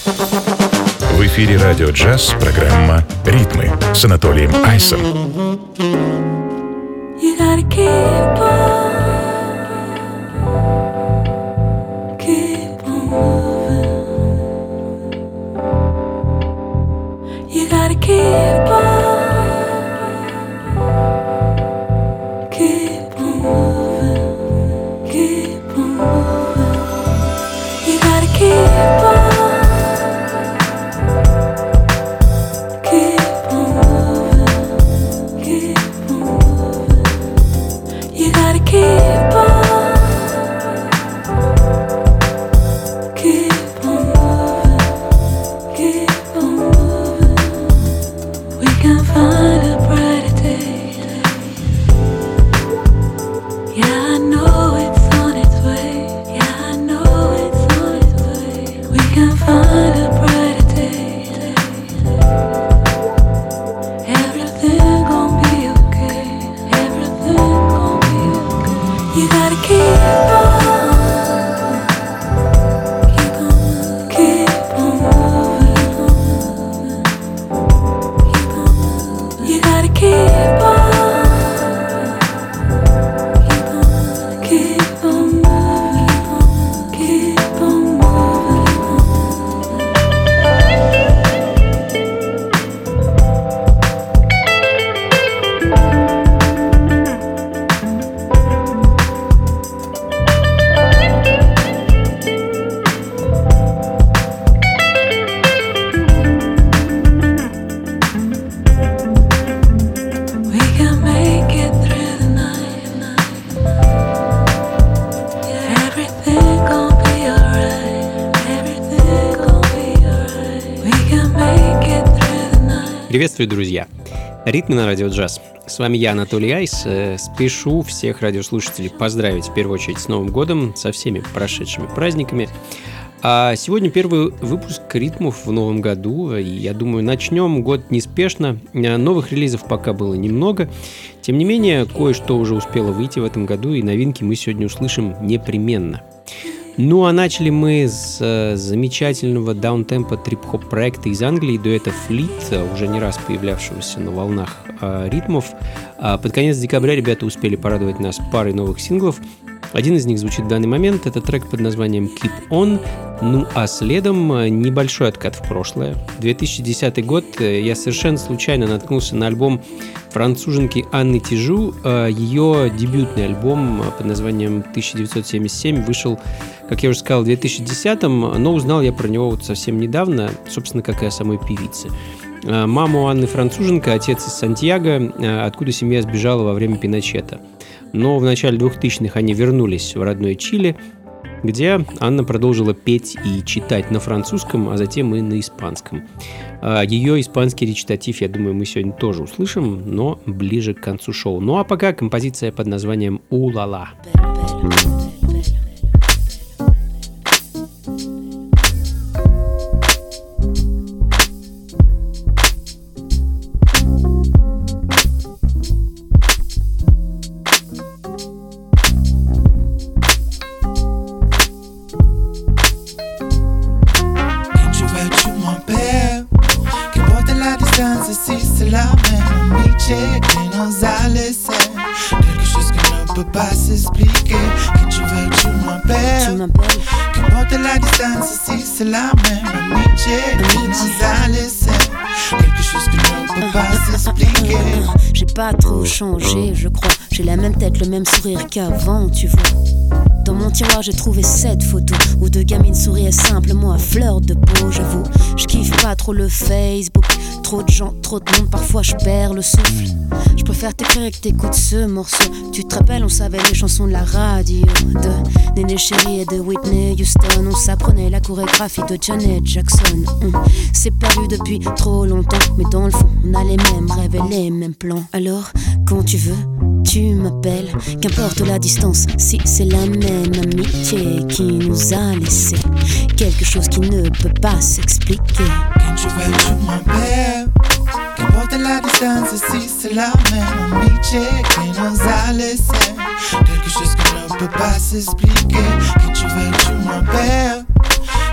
В эфире радио «Джаз» программа «Ритмы» с Анатолием Айсом. Приветствую, друзья! Ритмы на радио «Джаз». С вами я, Анатолий Айс. Спешу всех радиослушателей поздравить в первую очередь с Новым годом, со всеми прошедшими праздниками. А сегодня первый выпуск ритмов в новом году, и я думаю, начнем год неспешно. Новых релизов пока было немного. Тем не менее, кое-что уже успело выйти в этом году, и новинки мы сегодня услышим непременно. Ну а начали мы с замечательного даунтемпа трип-хоп проекта из Англии, дуэта Fleet, уже не раз появлявшегося на волнах ритмов. Под конец декабря ребята успели порадовать нас парой новых синглов. Один из них звучит в данный момент, это трек под названием Keep On. Ну а следом небольшой откат в прошлое. 2010 год, я совершенно случайно наткнулся на альбом француженки Анны Тижу. Ее дебютный альбом под названием 1977 вышел, как я уже сказал, в 2010-м, но узнал я про него вот совсем недавно, собственно, как и о самой певице. Мама у Анны француженка, отец из Сантьяго, откуда семья сбежала во время Пиночета. Но в начале 2000-х они вернулись в родное Чили, где Анна продолжила петь и читать на французском, а затем и на испанском. Ее испанский речитатив, я думаю, мы сегодня тоже услышим, но ближе к концу шоу. Ну а пока композиция под названием «У-ла-ла». Pas s'expliquer que tu veux que tu m'appelles. Qu'importe la distance, si c'est la même amitié qui nous a laissé quelque chose que ne peut pas s'expliquer. J'ai pas trop changé, je crois. J'ai la même tête, le même sourire qu'avant, tu vois. Dans mon tiroir j'ai trouvé cette photo où deux gamines souriaient simplement à fleur de peau. J'avoue, je kiffe pas trop le Facebook. Trop de gens, trop de monde, parfois je perds le souffle. Je préfère t'écrire que t'écoutes ce morceau. Tu te rappelles, on savait les chansons de la radio, de Néné Chérie et de Whitney Houston. On s'apprenait la chorégraphie de Janet Jackson. C'est perdu depuis trop longtemps, mais dans le fond on a les mêmes rêves et les mêmes plans. Alors quand tu veux, tu m'appelles. Qu'importe la distance, si c'est la même amitié qui nous a laissé quelque chose qui ne peut pas s'expliquer. Quand tu veux, tu m'appelles. Qu'importe la distance, si c'est la même amitié qui nous a laissé quelque chose qui ne peut pas s'expliquer. Quand tu veux, tu m'appelles.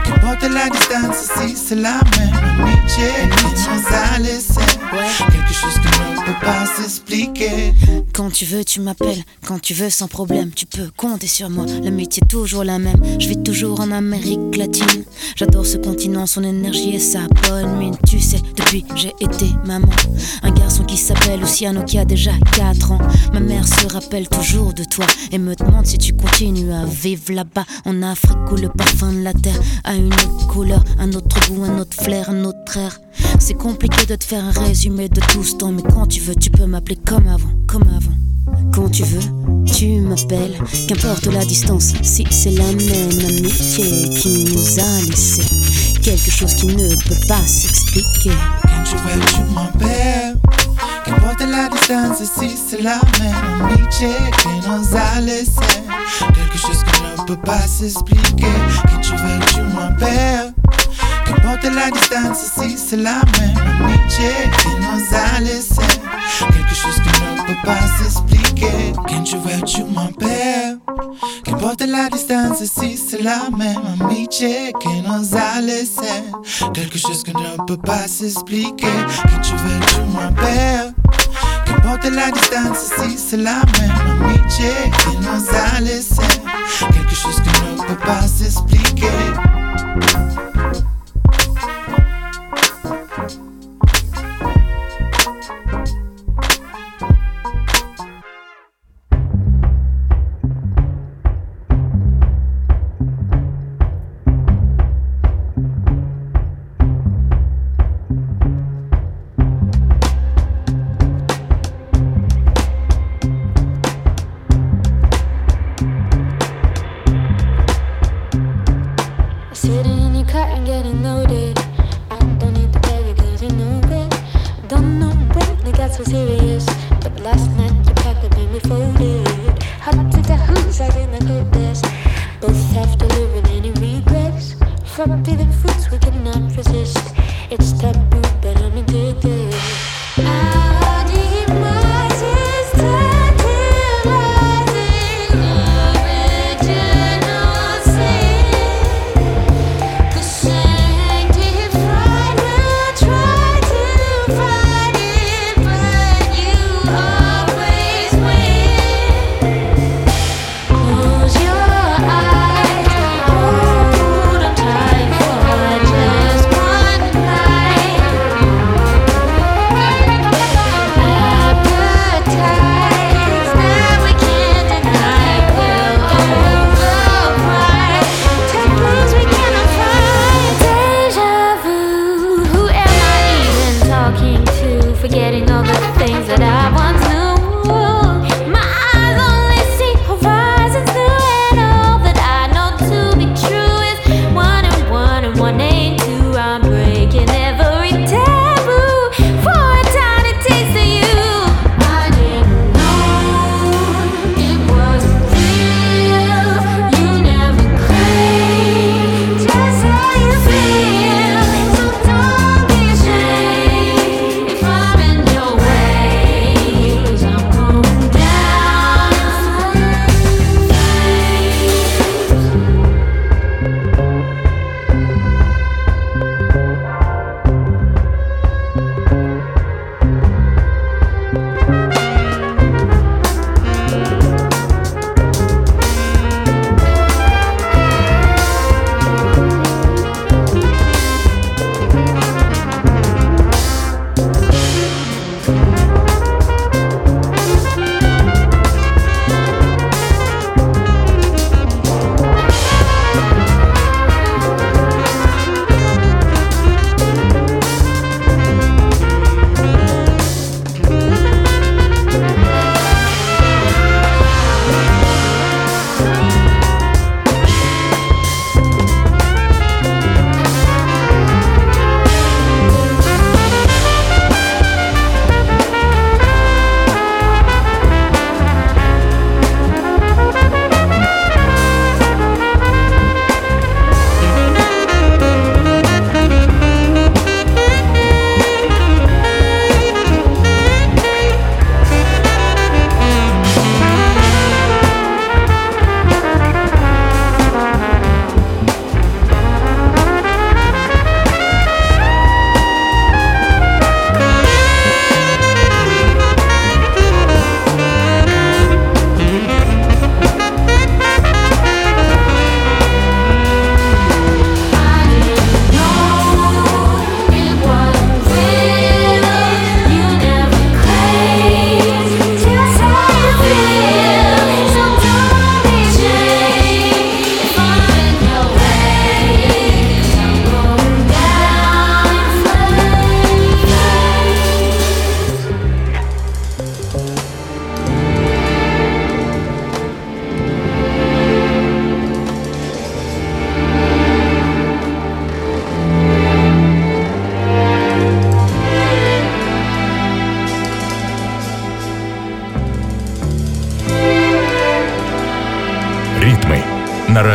Che porta la distanza, si c'est la même amitié qui nous a laissé quelque chose qui ne peut pas s'expliquer. Quand tu veux, tu m'appelles. Quand tu veux, sans problème, tu peux compter sur moi. L'amitié est toujours la même. Je vis toujours en Amérique latine. J'adore ce continent, son énergie et sa bonne mine. Tu sais, depuis j'ai été maman. Un garçon qui s'appelle Luciano qui a déjà 4 ans. Ma mère se rappelle toujours de toi et me demande si tu continues à vivre là-bas en Afrique où le parfum de la terre a une autre couleur, un autre goût, un autre flair, un autre air. C'est compliqué de te faire un résumé de tout ce temps, mais quand tu veux, tu peux m'appeler comme avant, comme avant. Quand tu veux, tu m'appelles, qu'importe la distance, si c'est la même amitié qui nous a laissé quelque chose qui ne peut pas s'expliquer. Quand tu veux, tu m'appelles, qu'importe la distance, si c'est la même amitié qui nous a laissé quelque chose qui ne peut pas s'expliquer. Quand tu veux, tu m'appelles, qu'importe la distance, si c'est la même amitié qui nous a laissé quelque chose qui ne peut pas s'expliquer. Quand tu veux, tu m'appelles, qu'importe la distance, si c'est la même amitié qui nous a laissé quelque chose qui ne peut pas s'expliquer. Quand tu veux, tu m'appelles, qu'importe la distance, si c'est la même amitié qui nous a laissé quelque chose qui ne peut pas s'expliquer.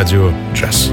радио «Джаз».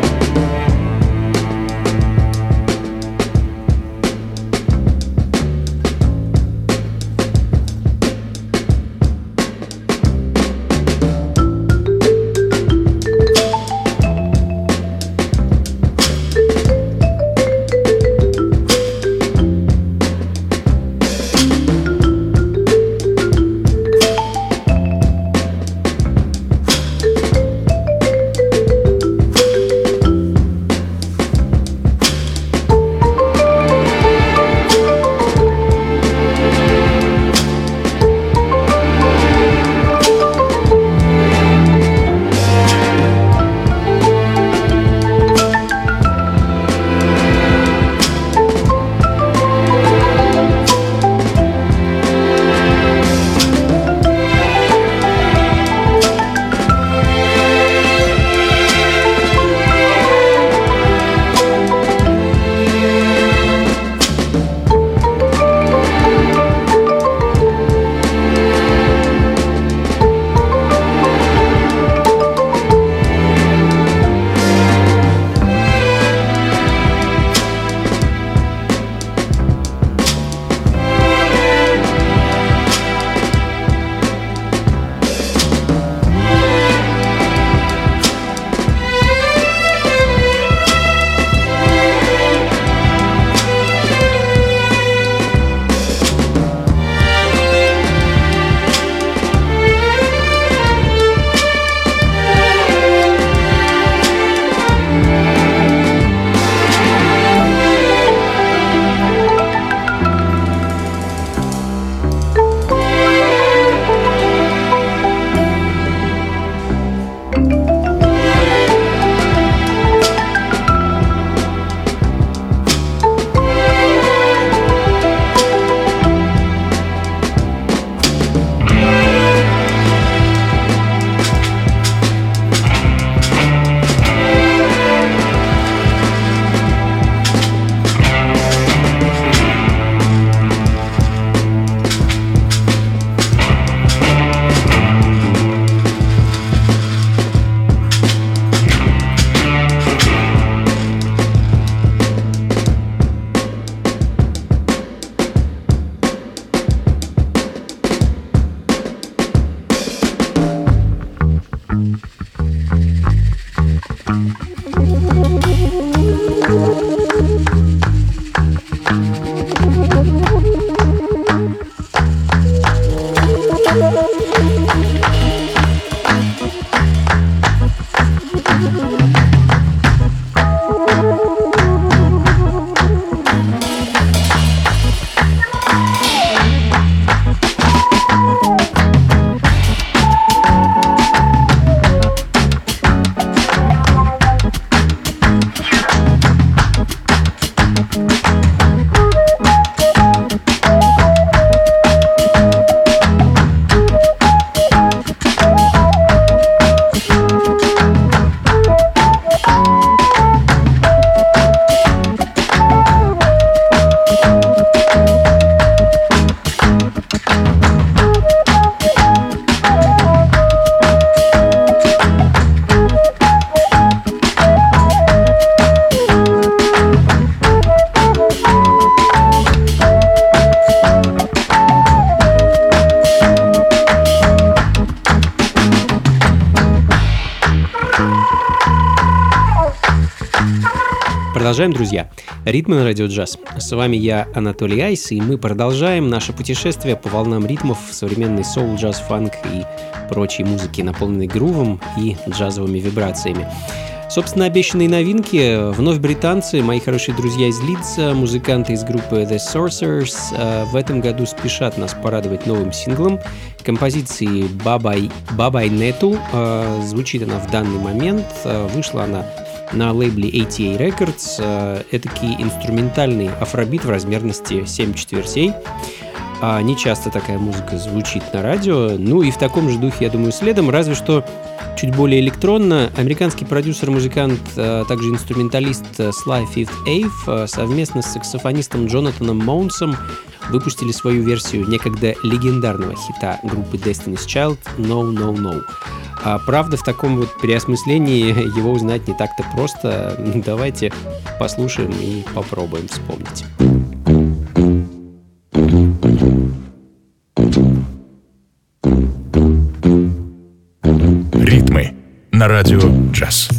Продолжаем, друзья. Ритмы на радио джаз. С вами я, Анатолий Айс, и мы продолжаем наше путешествие по волнам ритмов современной соул, джаз, фанк и прочей музыки, наполненной грувом и джазовыми вибрациями. Собственно, обещанные новинки. Вновь британцы, мои хорошие друзья из Лидса, музыканты из группы The Sorcerers, в этом году спешат нас порадовать новым синглом композиции «Бабай Нету». Звучит она в данный момент. Вышла она на лейбле ATA Records. Этакий инструментальный афробит в размерности 7 четвертей. Не часто такая музыка звучит на радио. Ну и в таком же духе, я думаю, следом, разве что чуть более электронно. Американский продюсер-музыкант, также инструменталист Sly Fifth Ave совместно с саксофонистом Джонатаном Моунсом выпустили свою версию некогда легендарного хита группы Destiny's Child «No, No, No». А правда, в таком вот переосмыслении его узнать не так-то просто. Давайте послушаем и попробуем вспомнить. Ритмы на радио джаз.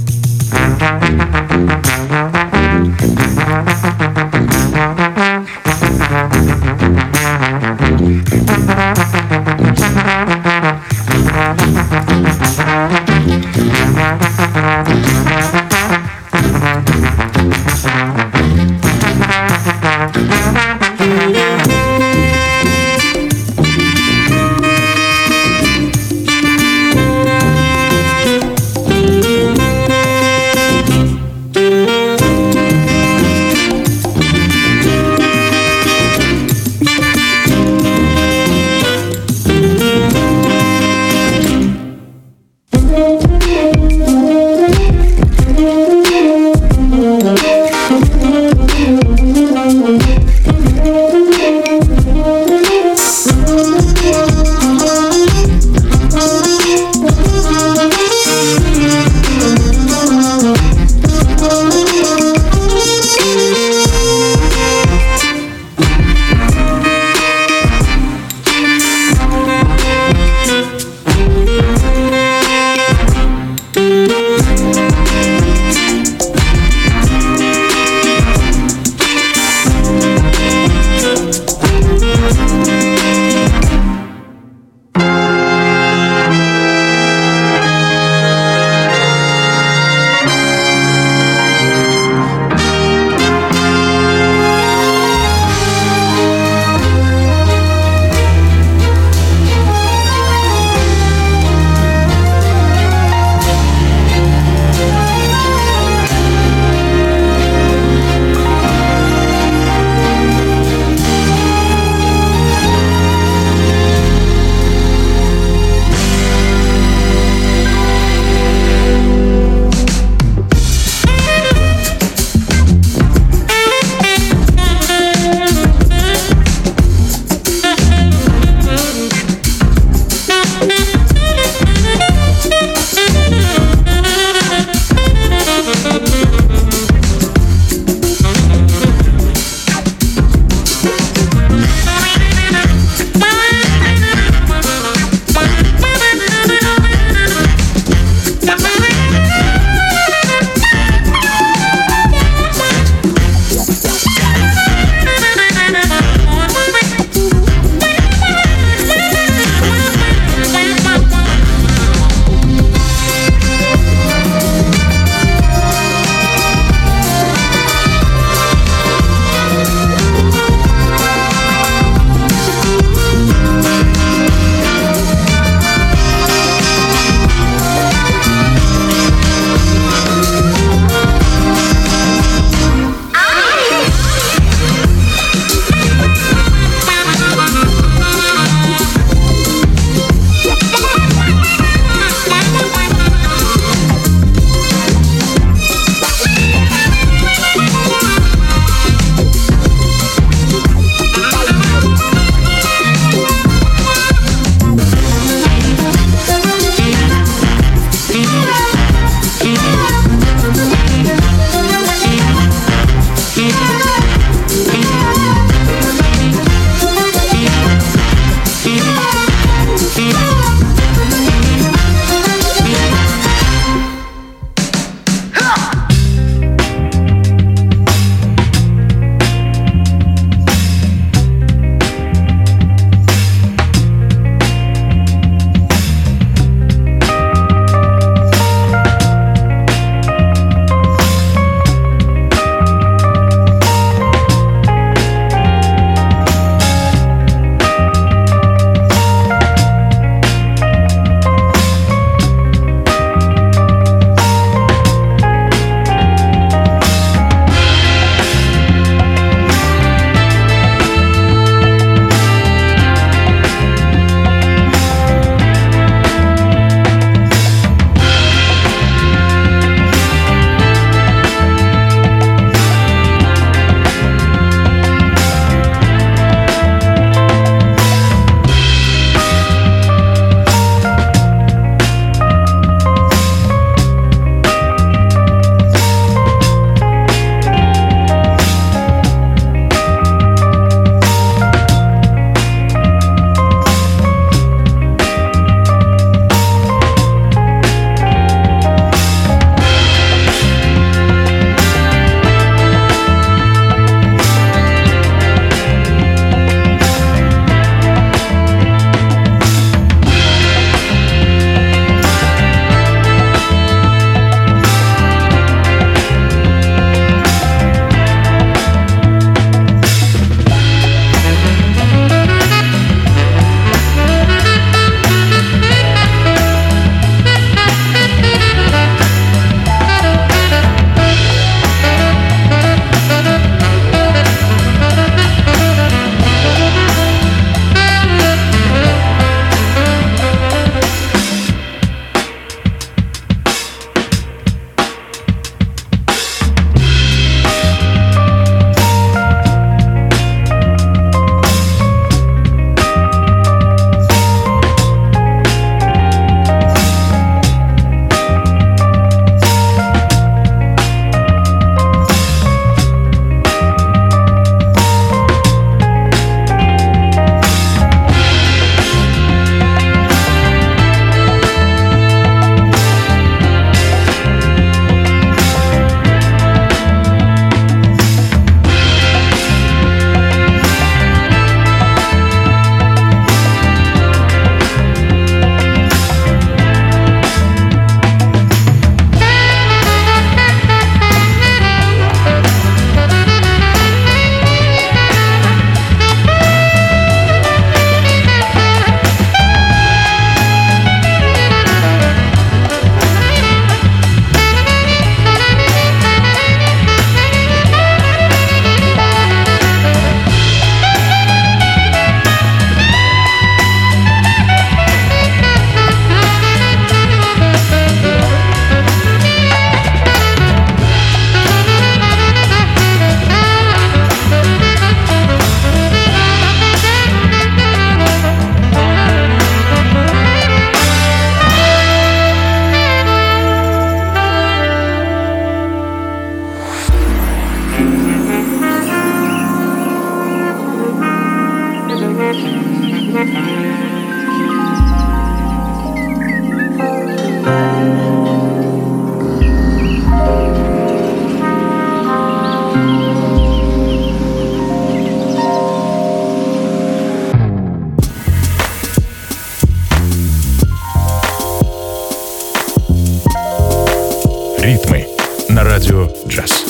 Ритмы на радио «Джаз».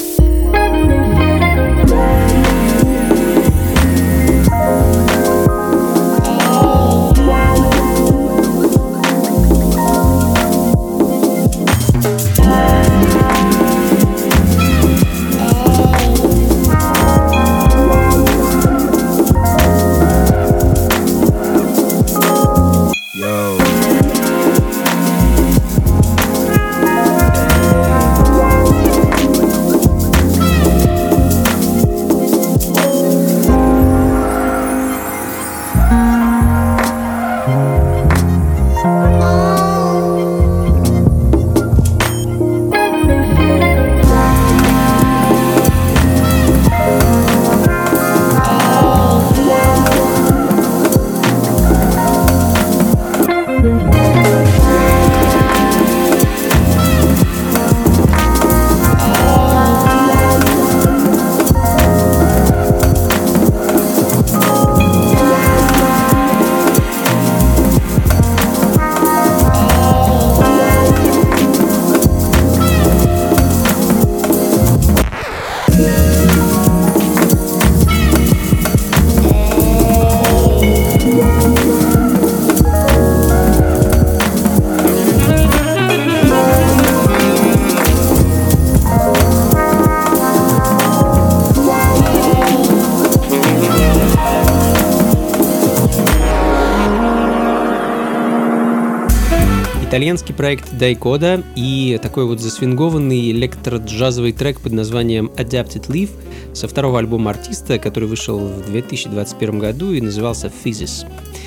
Итальянский проект Дайкода и такой вот засвингованный электроджазовый трек под названием Adapted Leaf со второго альбома артиста, который вышел в 2021 году и назывался Physis.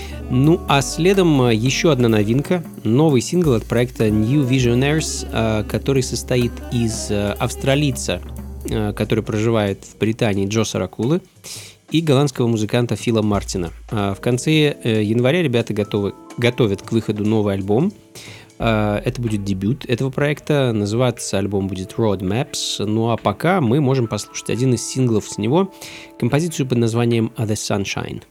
Ну а следом еще одна новинка, новый сингл от проекта New Visionaries, который состоит из австралийца, который проживает в Британии, Джо Саракулы, и голландского музыканта Фила Мартина. В конце января ребята готовят к выходу новый альбом. Это будет дебют этого проекта. Называться альбом будет Road Maps. Ну а пока мы можем послушать один из синглов с него, композицию под названием The Sunshine.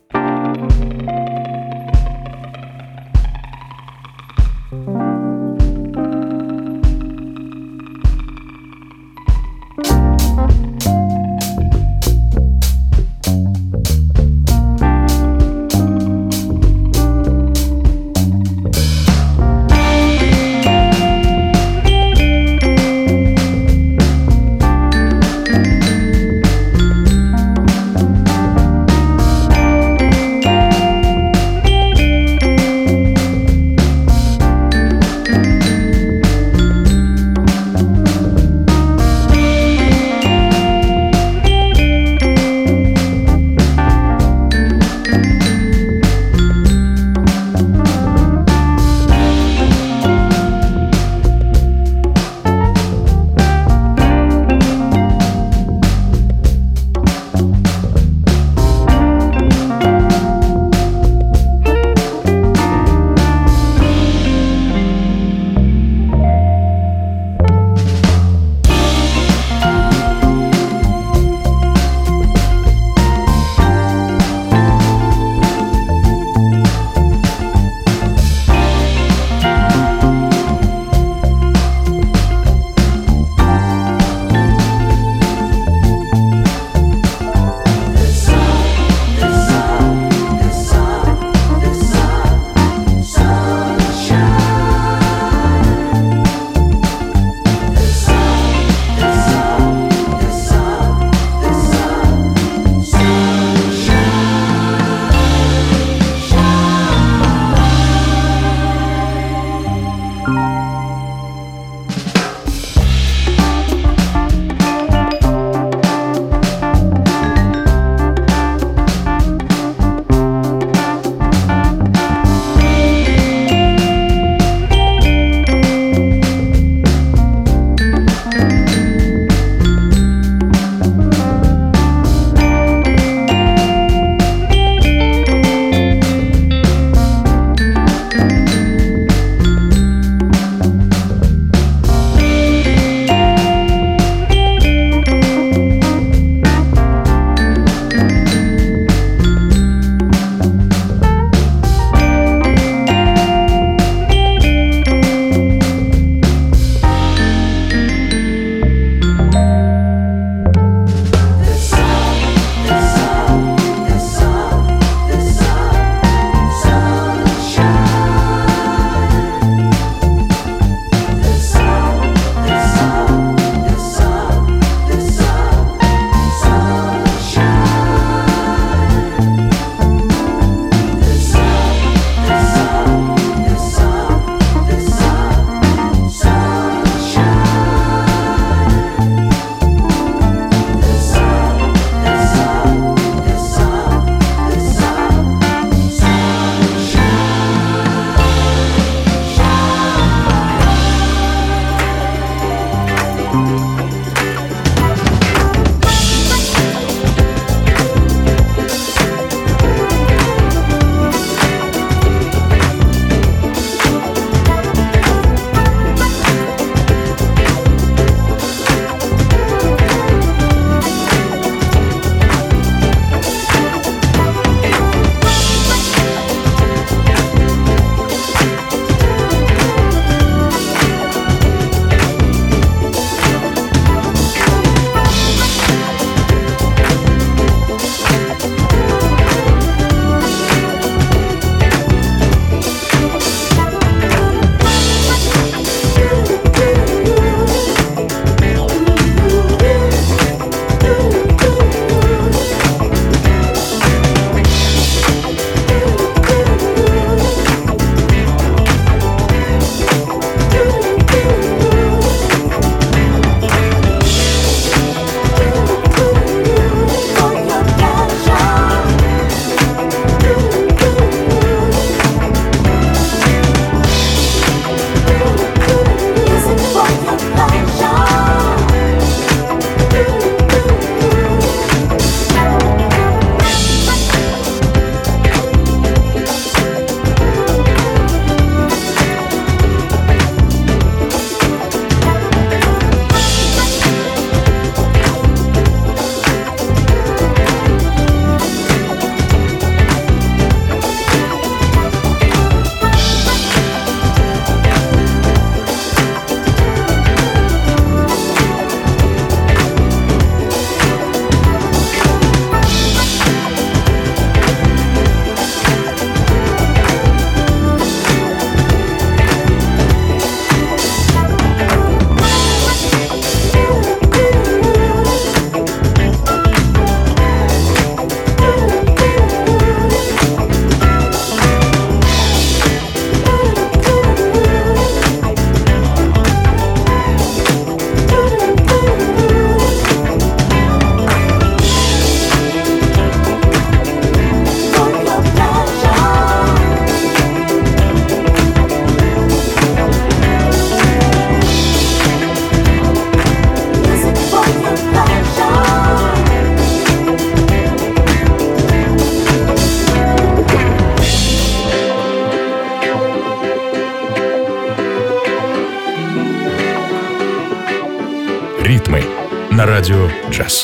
радио «Джаз».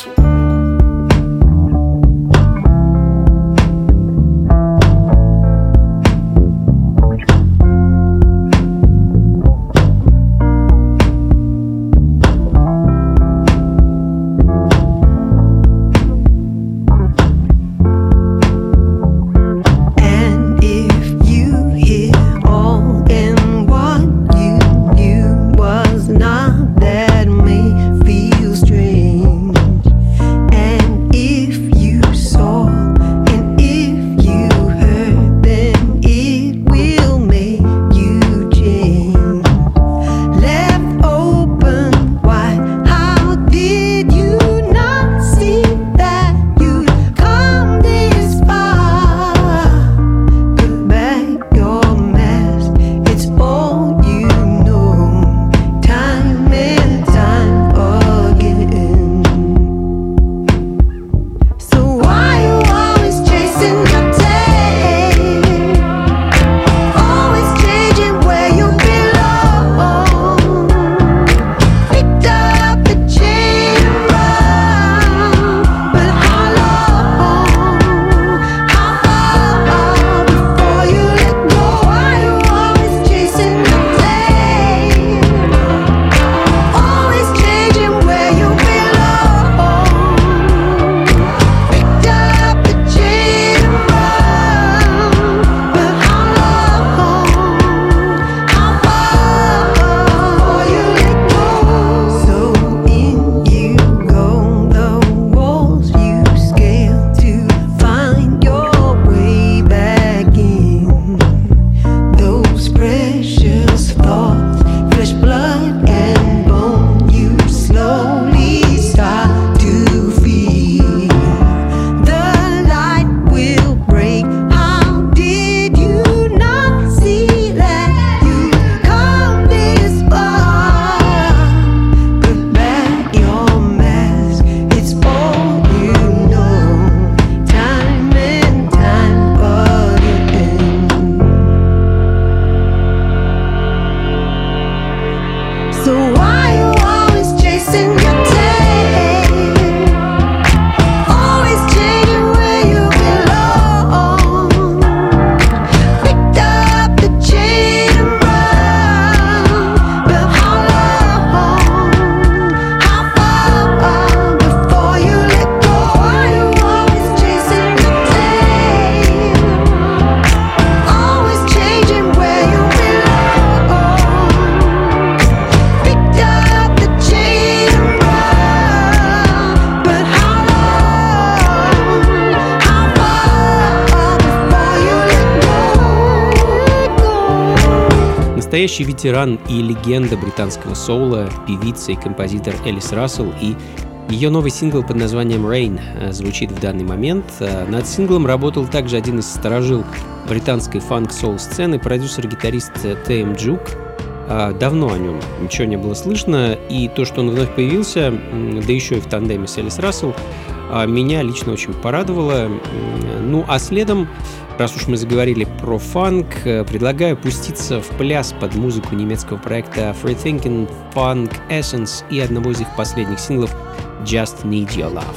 Настоящий ветеран и легенда британского соула, певица и композитор Элис Рассел, и ее новый сингл под названием «Rain» звучит в данный момент. Над синглом работал также один из старожил британской фанк-соул-сцены, продюсер-гитарист Т.М. Джук. Давно о нем ничего не было слышно, и то, что он вновь появился, да еще и в тандеме с Элис Рассел, меня лично очень порадовало. Ну а следом, раз уж мы заговорили про фанк, предлагаю пуститься в пляс под музыку немецкого проекта Free Thinking Funk Essence и одного из их последних синглов Just Need Your Love.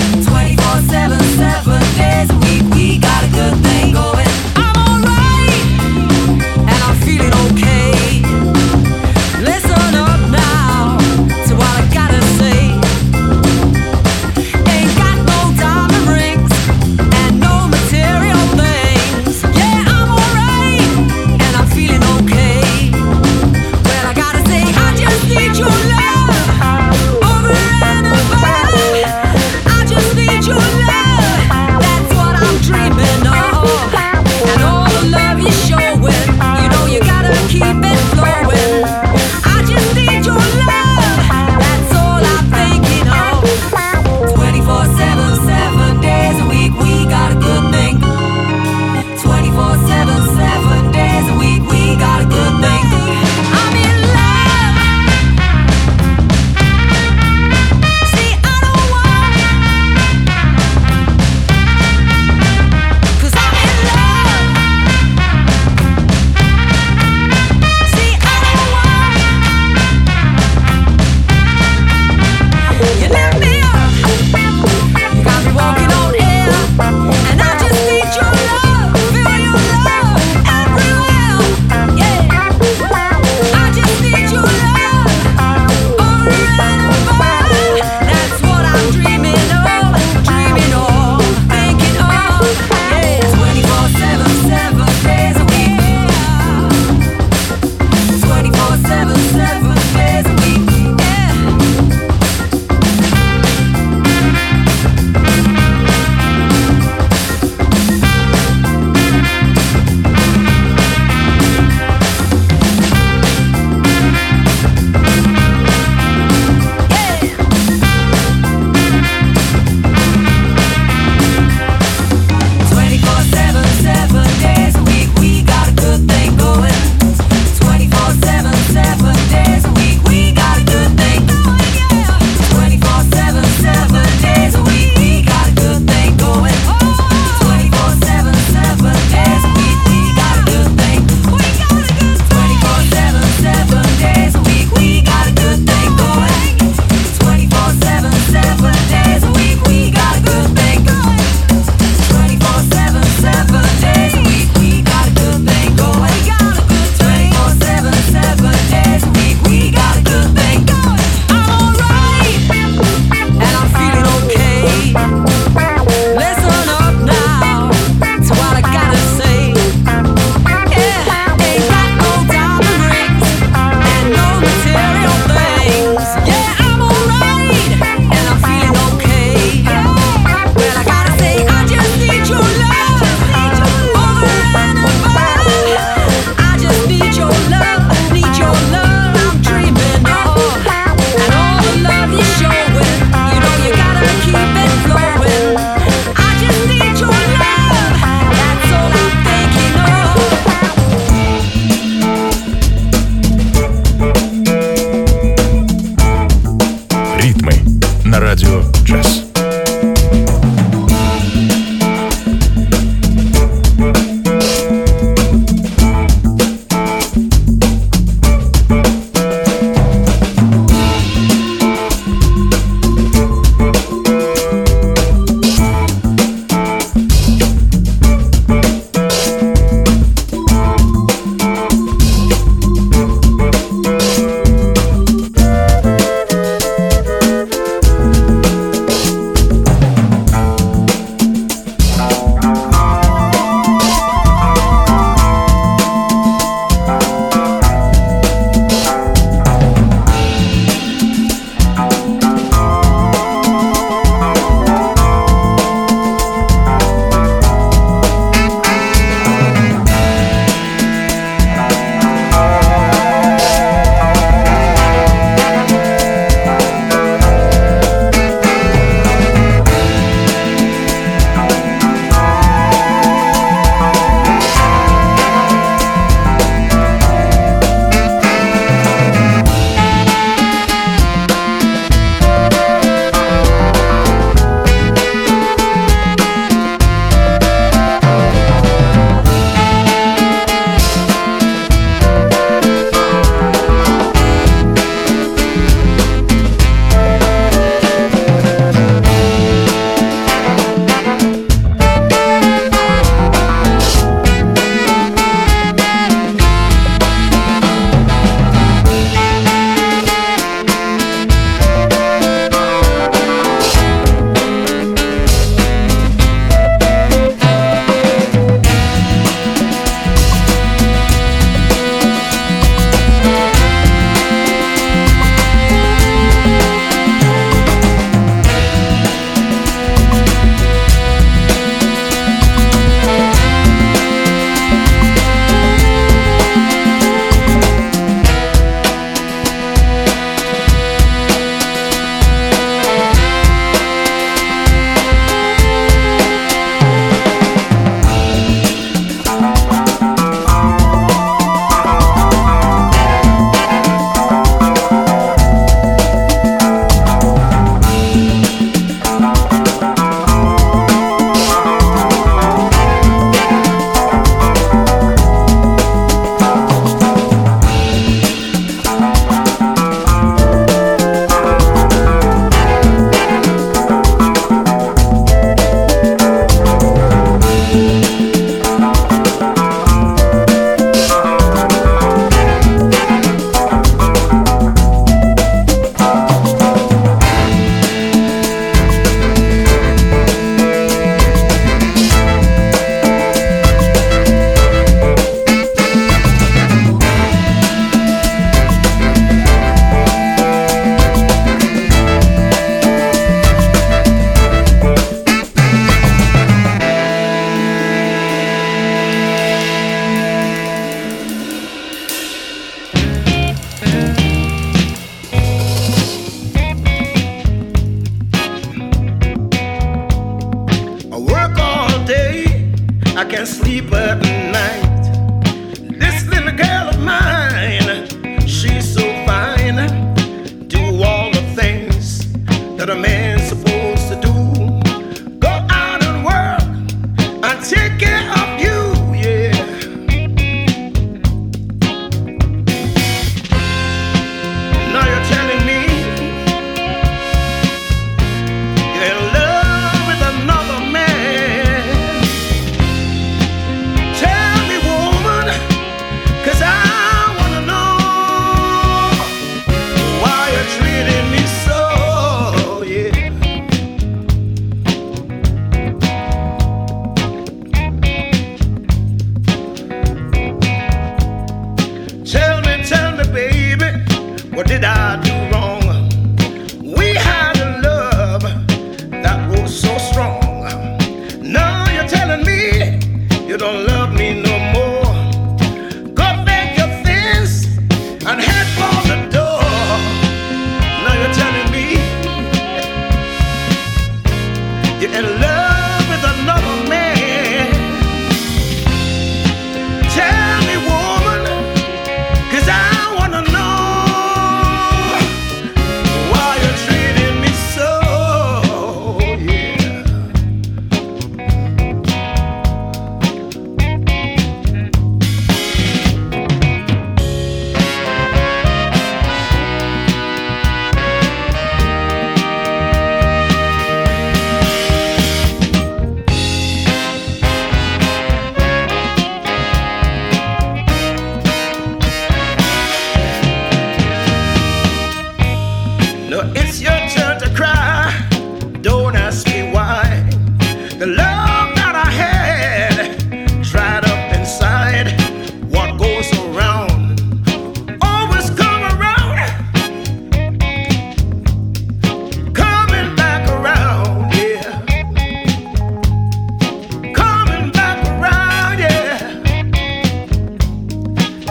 I'm alright.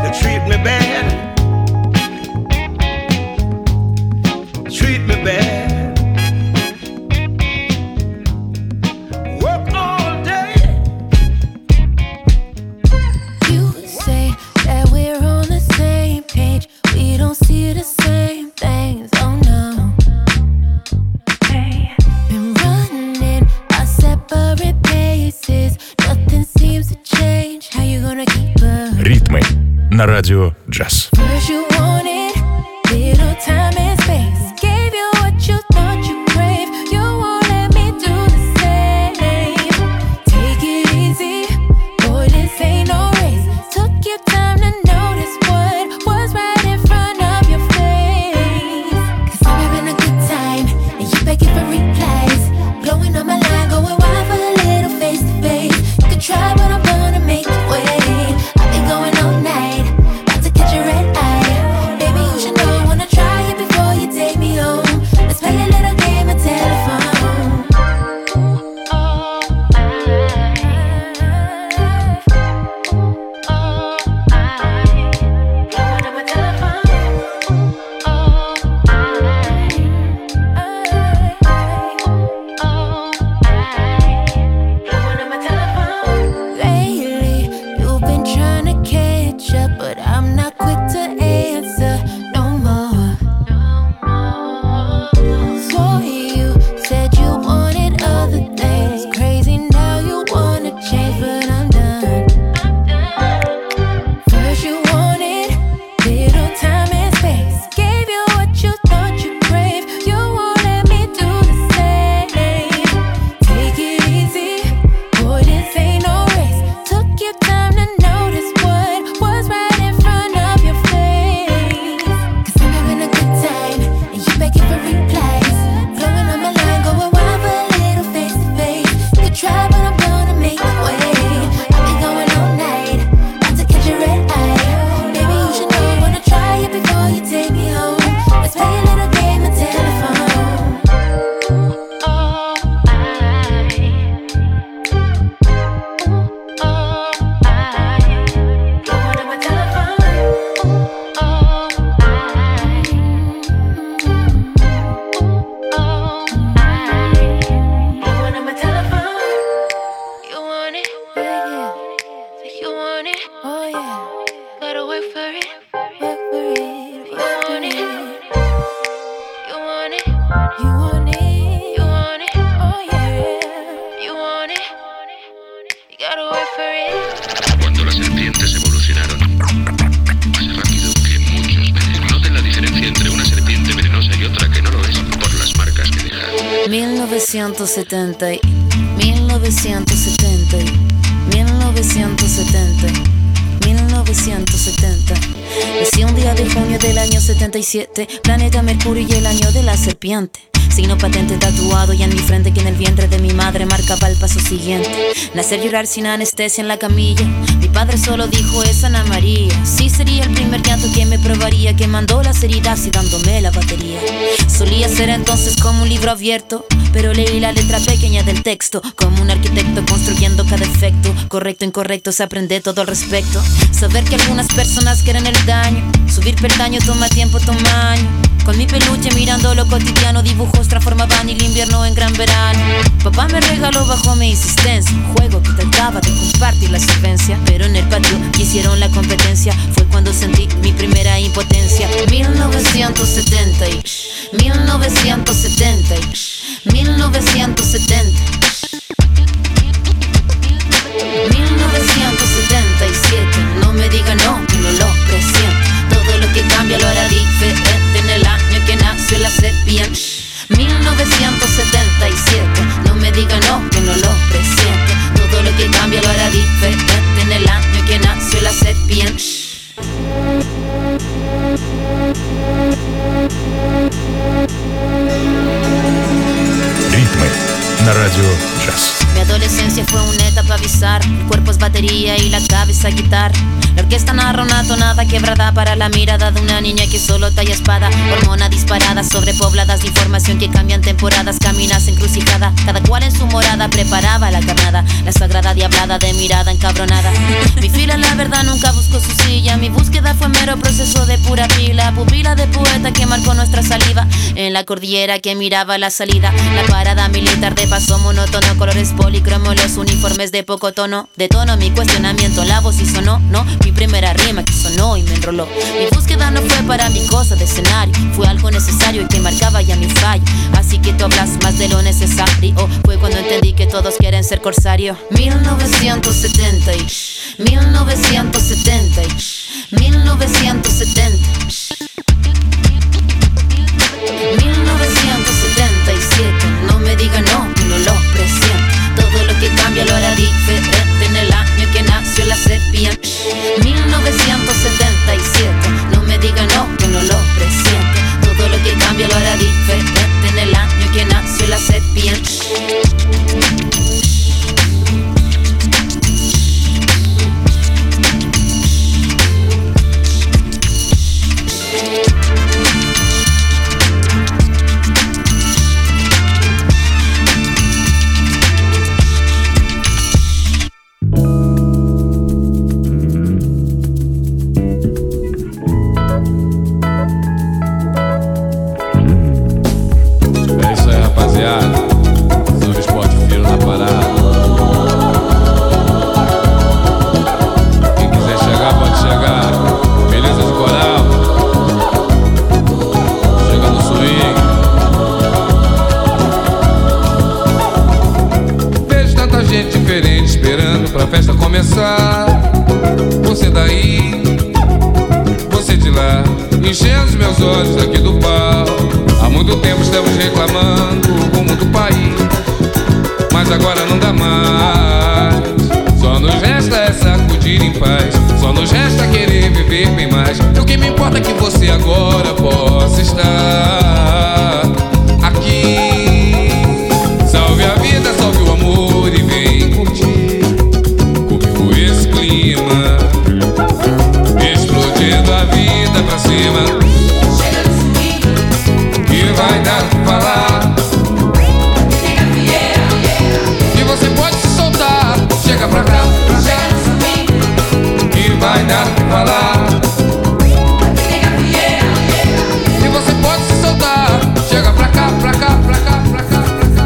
they treat me bad. Treat me bad. Work all day. You say that we're on the same page. We don't see the same things, oh no. Been running our separate paces. Nothing seems to change. How you gonna keep up? Ритмы на радио Джаз. First you wanted little time and space. Gave you what you thought you craved. You won't let me do the same. Take it easy, boy, this ain't no race. Took your time to notice what was right in front of your face. 'Cause I'm having a good time, and you begging for replies. Blowing on my line, going wild for a little face to face. You can try, but I'm gonna make you wait. I've been going all night, about to catch a red eye. Baby, you should know, wanna try it before you take me home. Let's play a little game of telephone. Lately, you've been trying to catch up, but I'm not quick to answer no more. So you said you wanted other things. Crazy now you wanna change, but I'm done. First you wanted little time and space. Gave you what you thought you craved. You won't let me do the same. Take it easy, boy, this ain't no race. Took your time to notice what was right in front of your face. 'Cause I'm having a good time, and you begging for replies. Blowing on my line, going wild for a little face to face. You could try, but I'm gonna make you wait. I've been going all night, about to catch a red eye. Baby, you should know, wanna try it before you take me home. Let's play a little game of telephone. You want it? Yeah. You want it? Oh yeah. Gotta work for it. Work for it. You want it? You want it? You want it? You want it? Oh yeah. You want it? You gotta work for it. Cuando las serpientes evolucionaron más rápido que muchos peces. Noten la diferencia entre una serpiente venenosa y otra que no lo es por las marcas que deja. 1970, 1970, 1970, 1970. Nací un día de junio del año 77, planeta Mercurio y el año de la serpiente. Signo patente tatuado y en mi frente que en el vientre de mi madre marcaba el paso siguiente. Nacer, llorar sin anestesia en la camilla. Mi padre solo dijo es Ana María. Sí, sería el primer llanto que me probaría, que mandó las heridas y dándome la batería. Solía ser entonces como un libro abierto, pero leí la letra pequeña del texto. Como un arquitecto construyendo cada efecto. Correcto, incorrecto, se aprende todo al respecto. Saber que algunas personas quieren el daño. Subir peldaño toma tiempo, toma año. Con mi peluche mirando lo cotidiano, dibujos transformaban el invierno en gran verano. Papá me regaló bajo mi insistencia un juego que trataba de compartir la solvencia, pero en el patio quisieron la competencia. Fue cuando sentí mi primera impotencia. 1970 y 1970 y 1970 1977. No me diga no, que no lo presiento. Todo lo que cambia lo hará diferente en el año que nació la serpiente. 1977. No me diga no, que no lo presiento. Todo lo que cambia lo hará diferente en el año que nació la serpiente. Ритмы на радио Джаз. Mi adolescencia fue una etapa bizarra. El cuerpo es batería y la cabeza guitarra. La orquesta narra una tonada quebrada para la mirada de una niña que solo talla espada. Hormona disparada, sobrepobladas de información que cambian temporadas. Caminas encrucijada, cada cual en su morada preparaba la carnada. La sagrada diablada de mirada encabronada. Mi fila la verdad nunca buscó su silla. Mi búsqueda fue mero proceso de pura pila, pupila de poeta que marcó nuestra saliva. En la cordillera que miraba la salida, la parada militar de paso monótono, colores policromo, los uniformes de poco tono. De tono mi cuestionamiento, la voz y sonó, no, mi primera rima que sonó y me enroló. Mi búsqueda no fue para mi cosa de escenario, fue algo necesario y que marcaba ya mi fallo. Así que tú hablas más de lo necesario. Fue cuando entendí que todos quieren ser corsario. 1970 y 1970 y 1970 1977. No me diga no, que no lo presiento. Todo lo que cambia lo hará diferente en el año que nació la sepia. 1977. No me diga no, que no lo presiento. Todo lo que cambia lo hará diferente en el año que nació la sepia. Você daí, você de lá, enchendo os meus olhos aqui do pau. Há muito tempo estamos reclamando o rumo do país, mas agora não dá mais. Só nos resta é sacudir em paz, só nos resta querer viver bem mais. E o que me importa é que você agora possa estar aqui. Salve a vida, salve o amor e vem curtir comigo esse clima, explodindo a vida pra cima. Chega no swing, que vai dar o que falar. Chega Vieira, E você pode se soltar. Chega pra cá, chega no swing, que vai dar o que falar. Chega Vieira, E você pode se soltar. Chega pra cá, pra cá, pra cá, pra cá, pra cá.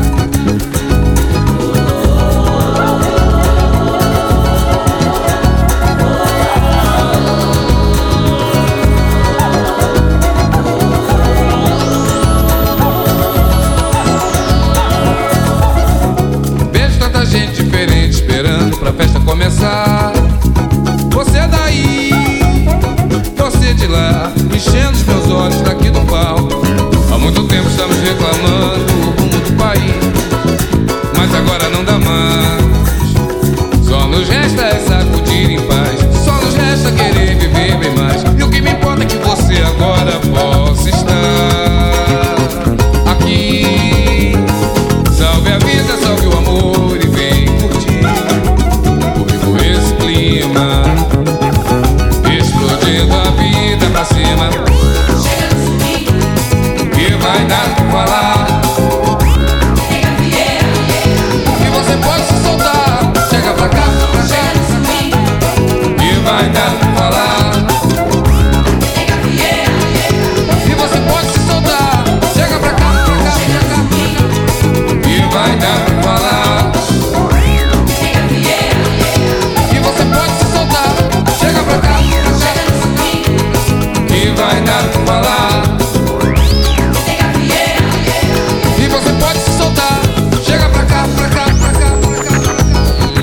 Vejo tanta gente diferente esperando pra festa começar. Você daí, você de lá, enchendo os meus olhos daqui do palco. Há muito tempo estamos reclamando o rumo do país, mas agora não dá mais. Só nos resta é sacudir em paz, só nos resta querer viver bem mais. E o que me importa é que você agora possa estar aqui. Salve a vida, salve o amor e vem curtir comigo esse clima, explodindo a vida pra cima. chega no swing, Que vai dar o que falar. Chega Vieira, E você pode se soltar. Chega pra cá, pra cá. chega no swing, Que vai dar o que falar. Chega Vieira, E você pode se soltar. Chega pra cá, pra cá, pra cá. Que vai dar o que falar. Chega Vieira, E você pode se soltar. Chega pra cá, pra cá. chega no swing, Que vai dar o que falar. Chega Vieira, E você pode se soltar. Chega pra cá, pra cá, pra cá, pra cá, pra cá.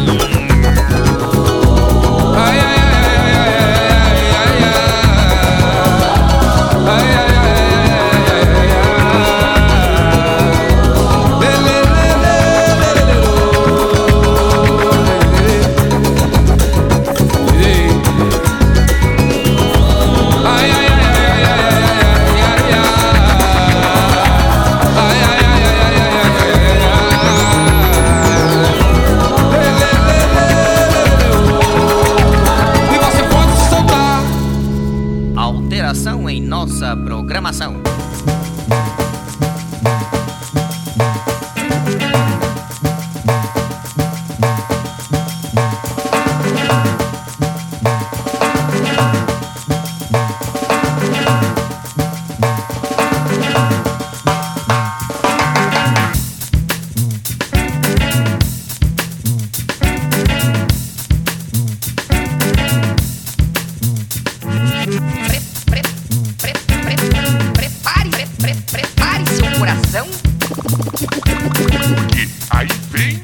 Ai, ai, ai, ai, ai, ai, ai, ai. Ai, ai, ai, ai, ai, ai, ai. Lê, lê, lê, lê, lê, lê, lê, lê. Ai, ai, ai, ai, ai, ai, ai, ai, ai. Ai, ai, ai, ai, ai, ai, ai, ai, ai. Lê, lê, lê, lê, lê, lê. E você pode se soltar. Alteração em nossa programação. Prepare seu coração. Porque aí vem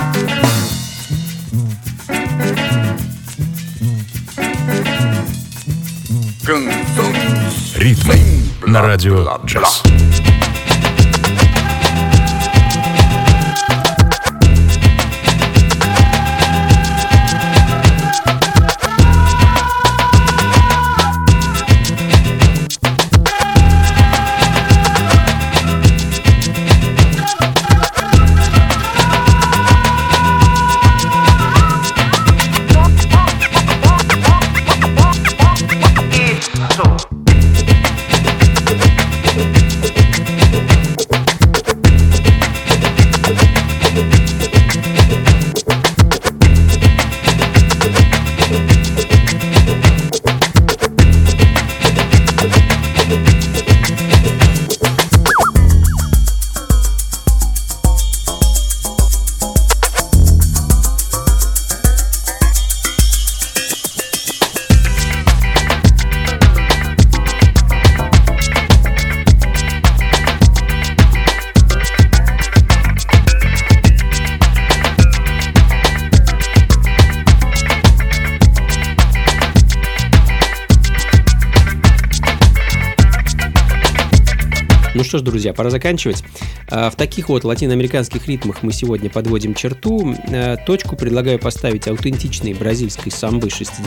Canções Ритмы на радио Джаз. Ну что ж, друзья, пора заканчивать. В таких вот латиноамериканских ритмах мы сегодня подводим черту. Точку предлагаю поставить аутентичной бразильской самбы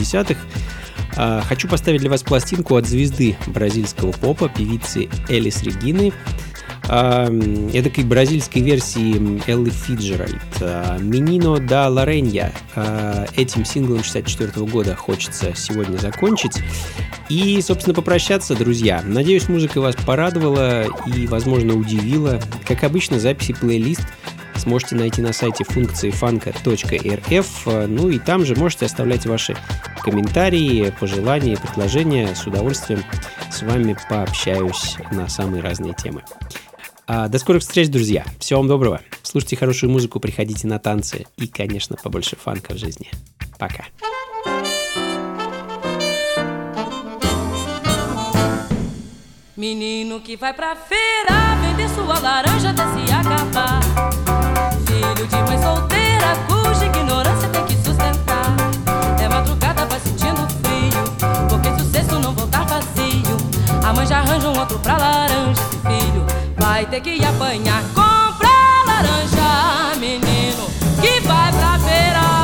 60-х. Хочу поставить для вас пластинку от звезды бразильского попа, певицы Элис Регины, эдакой бразильской версии Эллы Фиджеральд, «Menino da Larenha». Этим синглом 64 года хочется сегодня закончить. И, собственно, попрощаться, друзья. Надеюсь, музыка вас порадовала и, возможно, удивила. Как обычно, записи плейлист сможете найти на сайте функции funka.rf. Ну и там же можете оставлять ваши комментарии, пожелания, предложения. С удовольствием с вами пообщаюсь на самые разные темы. До скорых встреч, друзья. Всего вам доброго. Слушайте хорошую музыку, приходите на танцы и, конечно, побольше фанка в жизни. Пока. Menino que vai pra feira vender sua laranja até se acabar. Filho de mãe solteira cuja ignorância tem que sustentar. É madrugada, vai sentindo frio, porque se o cesto não voltar vazio, a mãe já arranja um outro pra laranja. Esse filho vai ter que apanhar. Comprar laranja, menino que vai pra feira.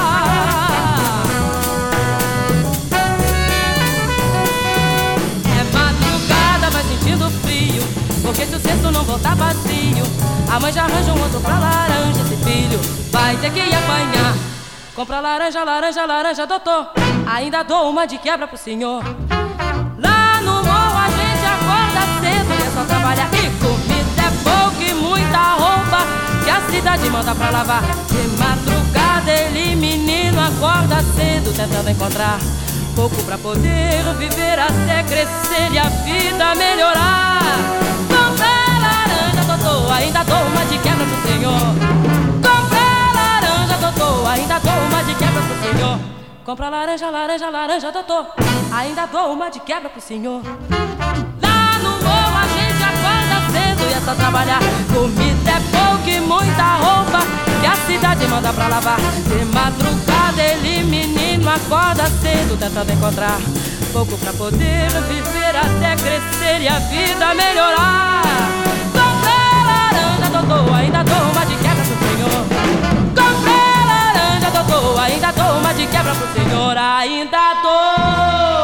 Porque se o cesto não voltar vazio, a mãe já arranja um outro pra laranja. Esse filho vai ter que apanhar. Compra laranja, laranja, laranja, doutor. Ainda dou uma de quebra pro senhor. Lá no morro a gente acorda cedo e é só trabalhar. E comida é pouco e muita roupa que a cidade manda pra lavar. De madrugada ele, menino, acorda cedo tentando encontrar pouco pra poder viver até crescer e a vida melhorar. Comprar laranja, doutor, ainda dou uma de quebra pro senhor. Comprar laranja, doutor, ainda dou uma de quebra pro senhor. Comprar laranja, laranja, laranja, doutor, ainda dou uma de quebra pro senhor. Lá no morro a gente acorda cedo e é só trabalhar. Comida é pouco e muita roupa que a cidade manda pra lavar. De madrugada ele, menino, acorda cedo tentando encontrar pouco pra poder viver até crescer e a vida melhorar. Comprei laranja, doutor, ainda dou uma de quebra pro senhor. Comprei laranja, doutor, ainda dou uma de quebra pro senhor. Ainda dou.